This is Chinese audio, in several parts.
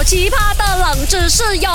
奇葩的冷知识哟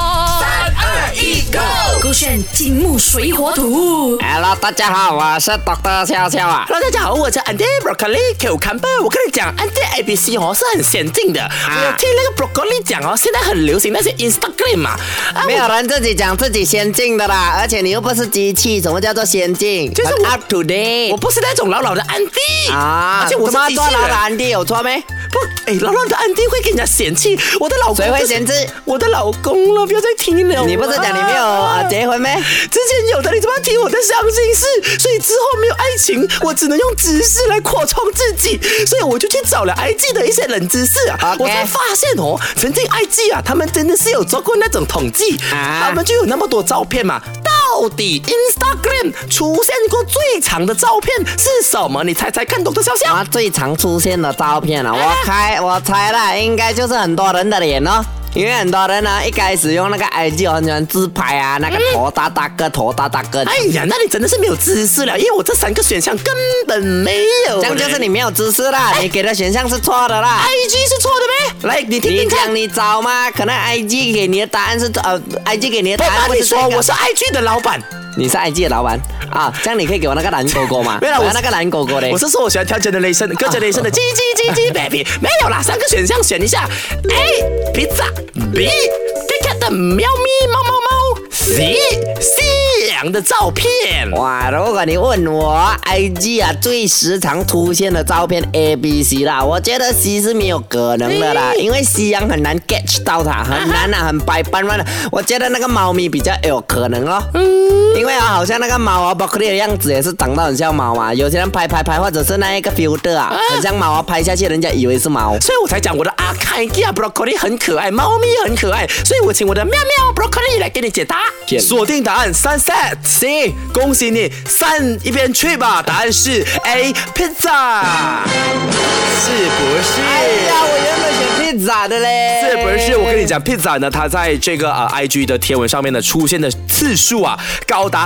！3、2、1，Go！ 勾选金木水火土。 Hello， 大家好，我是 Dr. 笑笑啊。 Hello， 大家好，我是 Andy Broccoli Cucumber。我跟你讲 ，Andy ABC 是很先进的。我有听那个 Broccoli 讲现在很流行那些 Instagram 嘛。 没有人自己讲自己先进的啦，而且你又不是机器，什么叫做先进？ 就是很 up to date。 我不是那种老的 Andy 啊， 而且我是机器人。 做老的 Andy 有错没？ 不，老的 Andy 会给人家嫌弃。我的老公、 谁会嫌弃？ 我的老公了，不要再听了。 你不是讲你没有结婚没？ 之前有的，你怎么听我的伤心事？所以之后没有爱情，我只能用知识来扩充自己，所以我就去找了 IG 的一些冷知识啊。我才发现曾经 IG 他们真的是有做过那种统计，他们就有那么多照片嘛。到底 Instagram 出现过最长的照片是什么？你猜猜看，懂的笑笑。 最常出现的照片啊，我猜啦，应该就是很多人的脸哦。因为很多人呢，一开始用那个 IG 很喜欢自拍啊，那个头大大个，头大大个。 哎呀，那你真的是没有知识了，因为我这3个选项根本没有。 这样就是你没有知识啦，你给的选项是错的啦。 IG 是错的咩？来，你听听看。 你讲你找吗？可能 IG 给你的答案是IG 给你的答案不，你说我是 IG 的老板。 你是 IG 的老板啊？这样你可以给我那个蓝勾勾吗？ 没有， 我那个蓝勾勾的。 我是说我喜欢跳 Generation 各 Generation 的叽baby。没有啦，3个选项选一下。A pizza B Kit Kat 的喵咪猫猫猫 C 夕阳的照片。 哇，如果你问我 IG 最时常出现的照片 ABC 啦，我觉得 C 是没有可能的啦，因为夕阳很难 catch 到它，很难很白斑斑的。我觉得那个猫咪比较有可能哦。因为好像那个猫Broccoli 的样子也是长到很像猫嘛，有些人拍，或者是那一个 filter 很像猫拍下去人家以为是猫， 所以我才讲我的阿凯基Broccoli 很可爱，猫咪很可爱，所以我请我的喵喵 Broccoli 来给你解答。锁定答案Sunset C， 恭喜你3一边去吧，答案是 A pizza， 是不是？ 哎呀，我原本选 pizza 的嘞， 是不是？我跟你讲 pizza 呢，它在这个IG 的贴文上面呢出现的次数高达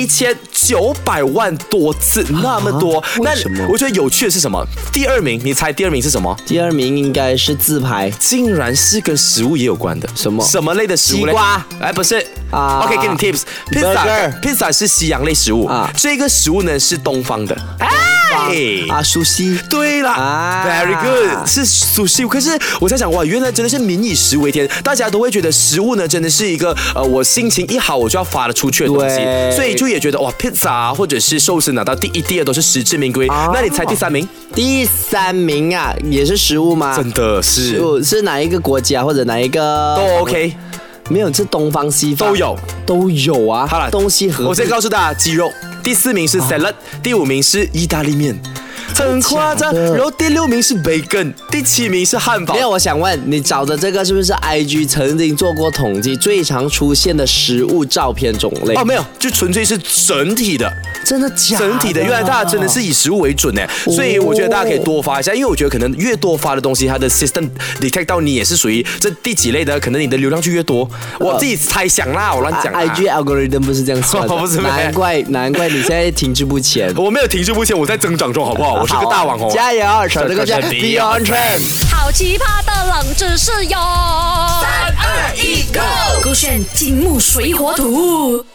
1900万多次，那么多。那我觉得有趣的是什么？第2名，你猜第2名是什么？ 第2名应该是自拍， 竟然是跟食物也有关的。什么类的食物嘞？ 西瓜？ 哎，不是。OK， 给你 tips。Pizza 是西洋类食物，这个食物呢是东方的。 苏西。 对了，very good， 是苏西。可是我在想，哇，原来真的是民以食为天，大家都会觉得食物呢真的是一个我心情一好我就要发得出去的东西，所以就也觉得哇 ，pizza 或者是寿司拿到第1、第2都是实至名归。那你猜第3名？ 第3名也是食物吗？ 真的是哪一个国家或者哪一个都 OK。 没有，是东方西方都有啊。 好了， 东西合。 我先告诉大家，鸡肉。第4名是 salad，第5名是意大利面，很夸张。然后第6名是 bacon， 第7名是汉堡。 没有，我想问你找的这个是不是 IG 曾经做过统计最常出现的食物照片种类？ 没有，就纯粹是整体的。 真的假的？ 整体的，原来大家真的是以食物为准呢，所以我觉得大家可以多发一下，因为我觉得可能越多发的东西，它的 system detect 到你也是属于这第几类的，可能你的流量就越多。我自己猜想啦，我乱讲。 IG algorithm 不是这样算的， 不是难怪你现在停滞不前。 我没有停滞不前，我在增长中，好不好？我是个大网红。 加油，守这个圈 Beyond Trend。 好奇葩的冷知识哟！3、2、1，Go！ 勾选金木水火土。